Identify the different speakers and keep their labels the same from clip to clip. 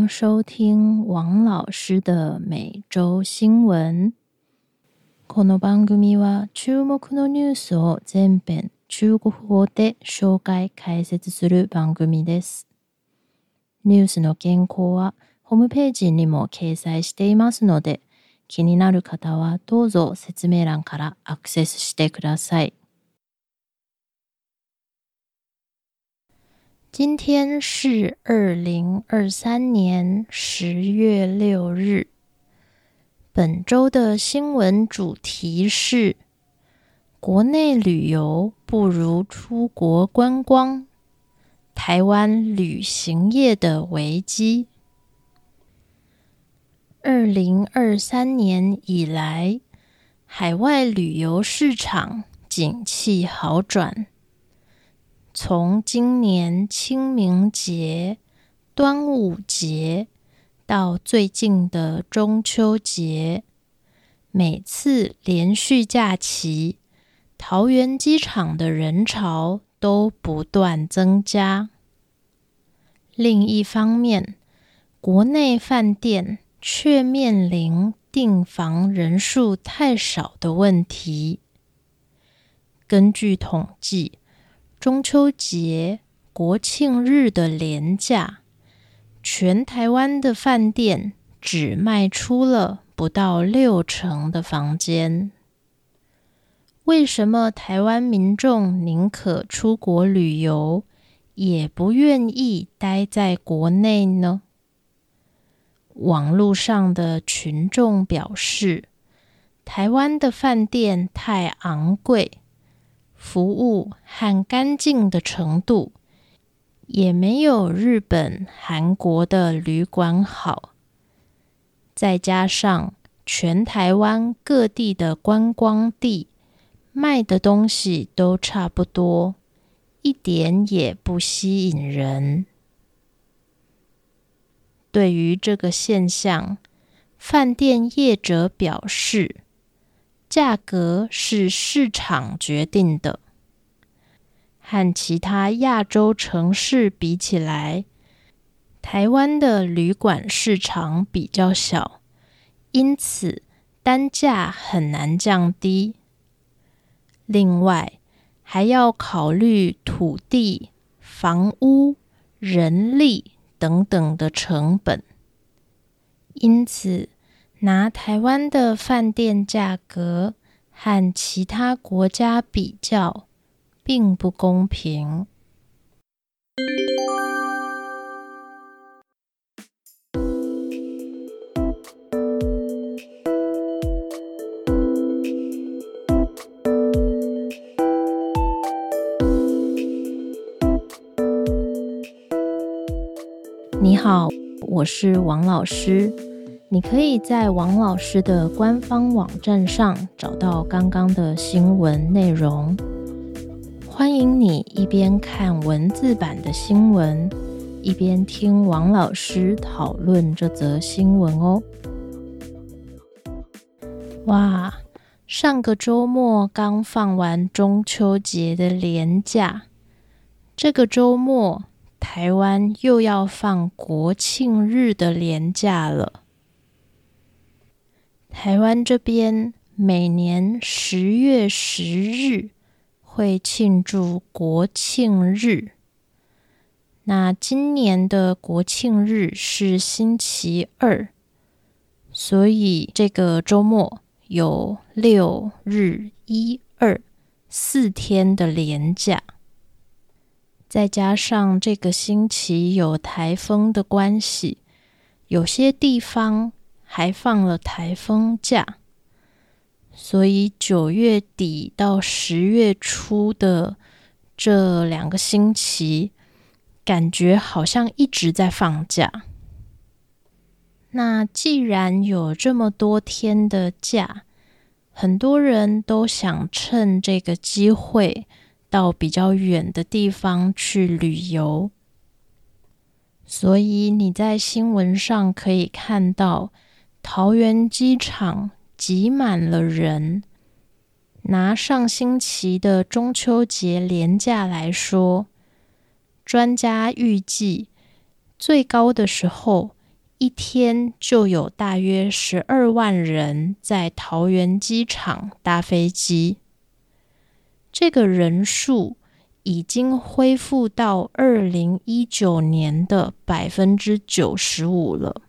Speaker 1: 收听王老师的每周新闻。この番組は注目のニュースを全編中国語で紹介解説する番組です。ニュースの原稿はホームページにも掲載していますので、気になる方はどうぞ説明欄からアクセスしてください。今天是2023年10月6日。本周的新闻主题是国内旅游不如出国观光，台湾旅行业的危机。2023年以来，海外旅游市场景气好转。从今年清明节、端午节到最近的中秋节，每次连续假期，桃园机场的人潮都不断增加。另一方面，国内饭店却面临订房人数太少的问题。根据统计，中秋节、国庆日的连假，全台湾的饭店只卖出了不到60%的房间。为什么台湾民众宁可出国旅游，也不愿意待在国内呢？网络上的群众表示，台湾的饭店太昂贵，服务和干净的程度也没有日本、韩国的旅馆好。再加上全台湾各地的观光地卖的东西都差不多，一点也不吸引人。对于这个现象，饭店业者表示，价格是市场决定的。和其他亚洲城市比起来，台湾的旅馆市场比较小，因此单价很难降低。另外，还要考虑土地、房屋、人力等等的成本。因此，拿台湾的饭店价格和其他国家比较，并不公平。你好，我是王老师。你可以在王老师的官方网站上找到刚刚的新闻内容。欢迎你一边看文字版的新闻，一边听王老师讨论这则新闻哦。哇，上个周末刚放完中秋节的连假，这个周末台湾又要放国庆日的连假了。台湾这边每年10月10日会庆祝国庆日，那今年的国庆日是星期二，所以这个周末有6日1、2 4天的连假。再加上这个星期有台风的关系，有些地方还放了台风假，所以9月底到10月初的这2个星期，感觉好像一直在放假。那既然有这么多天的假，很多人都想趁这个机会到比较远的地方去旅游，所以你在新闻上可以看到桃园机场挤满了人。拿上星期的中秋节连假来说，专家预计最高的时候一天就有大约12万人在桃园机场搭飞机。这个人数已经恢复到2019年的95%了。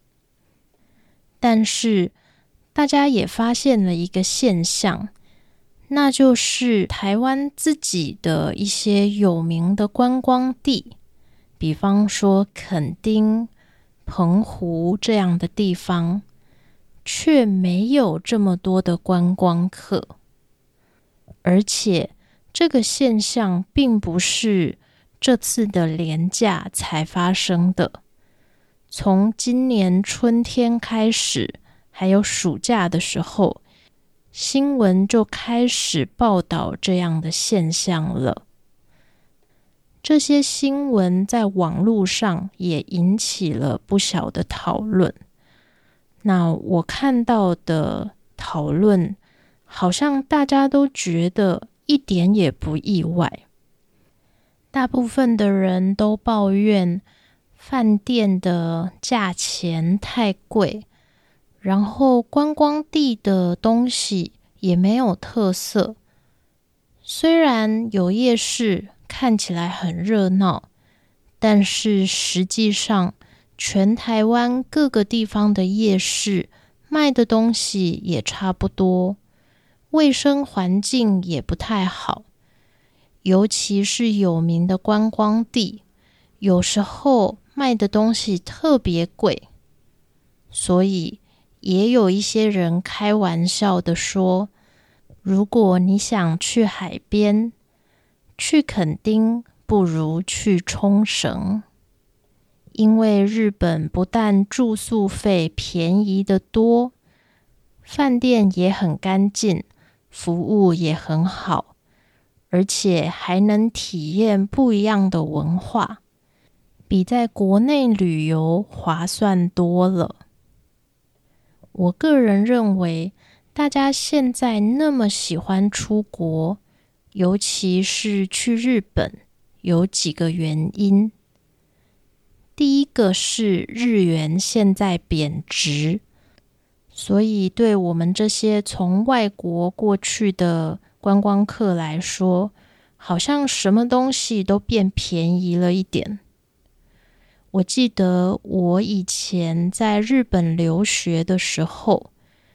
Speaker 1: 但是大家也发现了一个现象，那就是台湾自己的一些有名的观光地，比方说垦丁、澎湖这样的地方，却没有这么多的观光客。而且这个现象并不是这次的连假才发生的，从今年春天开始，还有暑假的时候，新闻就开始报道这样的现象了。这些新闻在网络上也引起了不小的讨论。那我看到的讨论，好像大家都觉得一点也不意外。大部分的人都抱怨饭店的价钱太贵，然后观光地的东西也没有特色。虽然有夜市看起来很热闹，但是实际上全台湾各个地方的夜市卖的东西也差不多，卫生环境也不太好，尤其是有名的观光地，有时候卖的东西特别贵。所以也有一些人开玩笑的说，如果你想去海边，去垦丁不如去冲绳。因为日本不但住宿费便宜得多，饭店也很干净，服务也很好，而且还能体验不一样的文化，比在国内旅游划算多了。我个人认为，大家现在那么喜欢出国，尤其是去日本，有几个原因。第一个是日元现在贬值，所以对我们这些从外国过去的观光客来说，好像什么东西都变便宜了一点。我记得我以前在日本留学的时候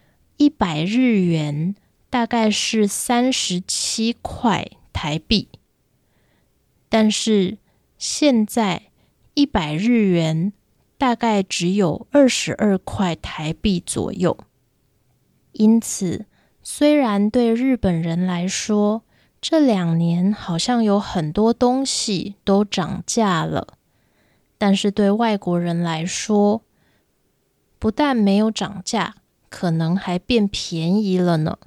Speaker 1: ，100日元大概是37块台币，但是现在100日元大概只有22块台币左右。因此，虽然对日本人来说，这2年好像有很多东西都涨价了，但是对外国人来说，不但没有涨价，可能还变便宜了呢。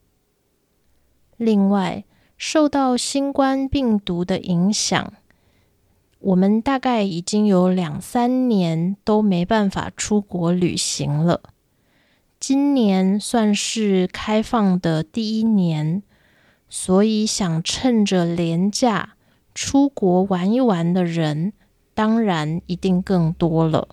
Speaker 1: 另外，受到新冠病毒的影响，我们大概已经有2-3年都没办法出国旅行了。今年算是开放的第1年，所以想趁着连假出国玩一玩的人，当然一定更多了。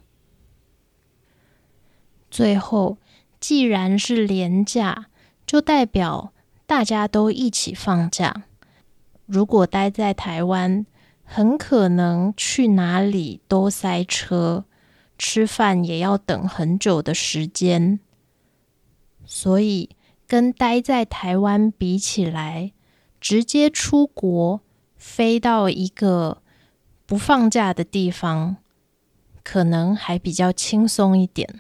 Speaker 1: 最后，既然是连假，就代表大家都一起放假。如果待在台湾，很可能去哪里都塞车，吃饭也要等很久的时间。所以跟待在台湾比起来，直接出国飞到一个不放假的地方，可能还比较轻松一点。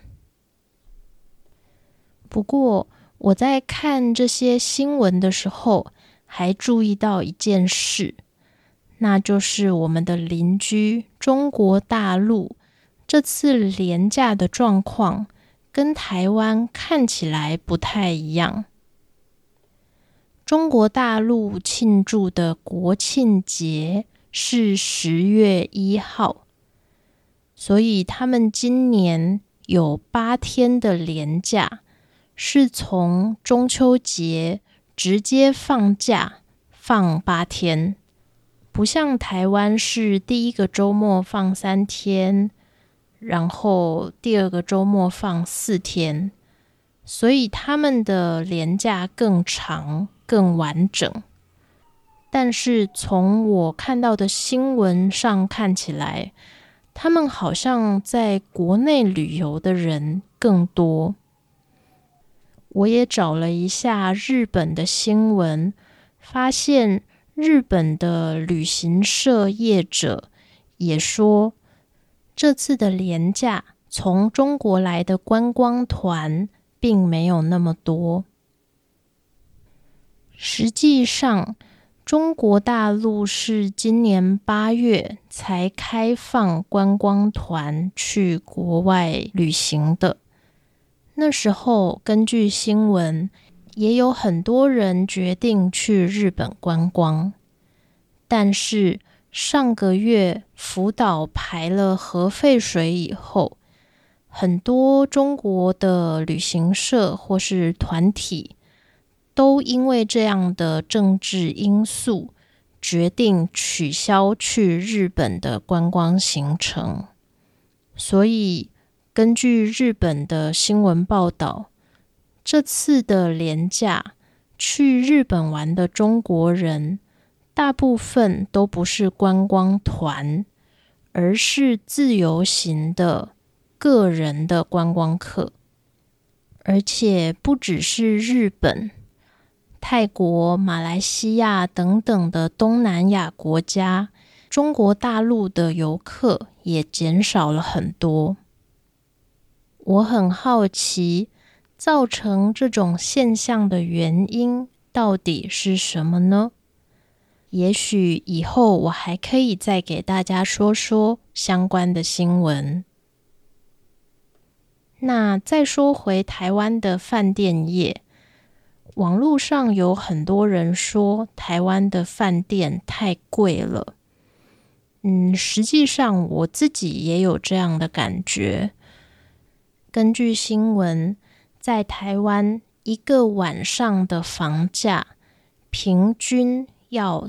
Speaker 1: 不过我在看这些新闻的时候，还注意到一件事，那就是我们的邻居中国大陆这次连假的状况跟台湾看起来不太一样。中国大陆庆祝的国庆节是10月1号，所以他们今年有8天的连假，是从中秋节直接放假，放8天。不像台湾是第一个周末放3天， 然后第二个周末放4天，所以他们的连假更长更完整。但是从我看到的新闻上看起来，他们好像在国内旅游的人更多。我也找了一下日本的新闻，发现日本的旅行社业者也说，这次的连假从中国来的观光团并没有那么多。实际上，中国大陆是今年8月才开放观光团去国外旅行的。那时候根据新闻，也有很多人决定去日本观光。但是上个月福岛排了核废水以后，很多中国的旅行社或是团体都因为这样的政治因素，决定取消去日本的观光行程。所以根据日本的新闻报道，这次的连假去日本玩的中国人，大部分都不是观光团，而是自由行的个人的观光客。而且不只是日本，泰国、马来西亚等等的东南亚国家，中国大陆的游客也减少了很多。我很好奇，造成这种现象的原因到底是什么呢？也许以后我还可以再给大家说说相关的新闻。那再说回台湾的饭店业，网络上有很多人说台湾的饭店太贵了。实际上我自己也有这样的感觉。根据新闻，在台湾一个晚上的房价平均要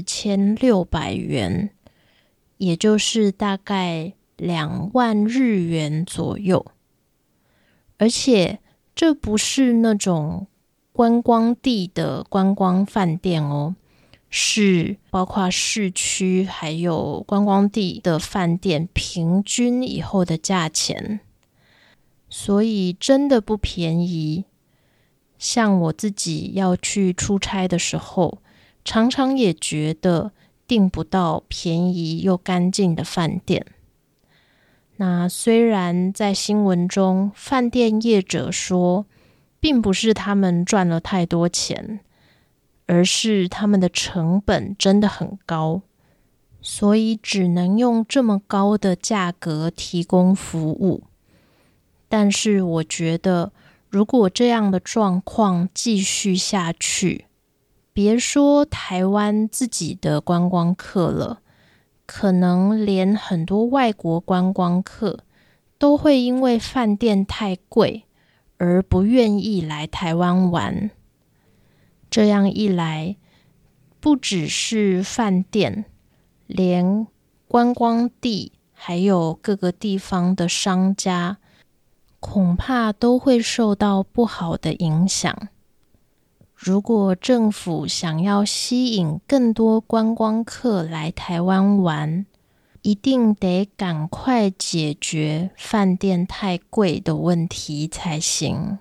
Speaker 1: 4600元，也就是大概2万日元左右。而且这不是那种观光地的观光饭店哦，是包括市区还有观光地的饭店平均以后的价钱。所以真的不便宜。像我自己要去出差的时候，常常也觉得订不到便宜又干净的饭店。那虽然在新闻中，饭店业者说，并不是他们赚了太多钱，而是他们的成本真的很高，所以只能用这么高的价格提供服务。但是我觉得，如果这样的状况继续下去，别说台湾自己的观光客了，可能连很多外国观光客都会因为饭店太贵而不愿意来台湾玩。这样一来，不只是饭店，连观光地还有各个地方的商家，恐怕都会受到不好的影响。如果政府想要吸引更多观光客来台湾玩，一定得赶快解决饭店太贵的问题才行。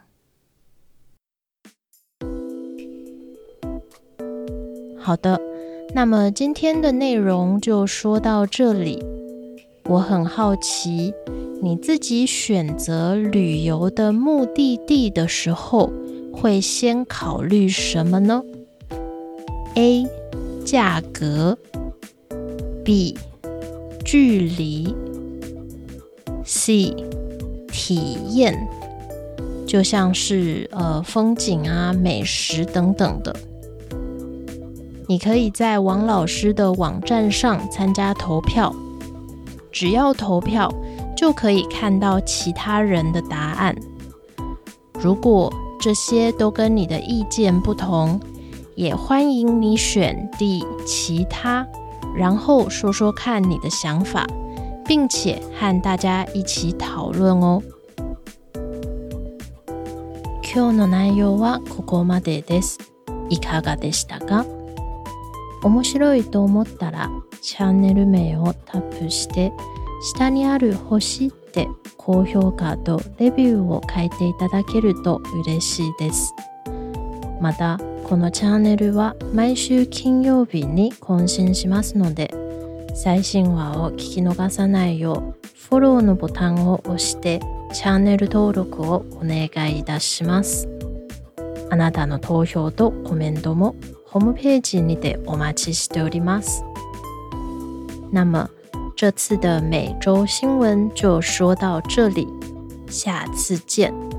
Speaker 1: 好的，那么今天的内容就说到这里。我很好奇，你自己选择旅游的目的地的时候，会先考虑什么呢？ A. 价格 B. 距离 C. 体验，就像是风景啊、美食等等的。你可以在王老师的网站上参加投票，只要投票就可以看到其他人的答案。如果这些都跟你的意见不同，也欢迎你选其他，然后说说看你的想法， 并且和大家一起讨論哦。今日の内容はここまでです。いかがでしたか？面白いと思ったらチャンネル名をタップして下にある星で高評価とレビューを書いていただけると嬉しいです。またこのチャンネルは毎週金曜日に更新しますので、最新話を聞き逃さないようフォローのボタンを押してチャンネル登録をお願いいたします。あなたの投票とコメントもホームページにてお待ちしております。那么这次的每周新闻就说到这里，下次见。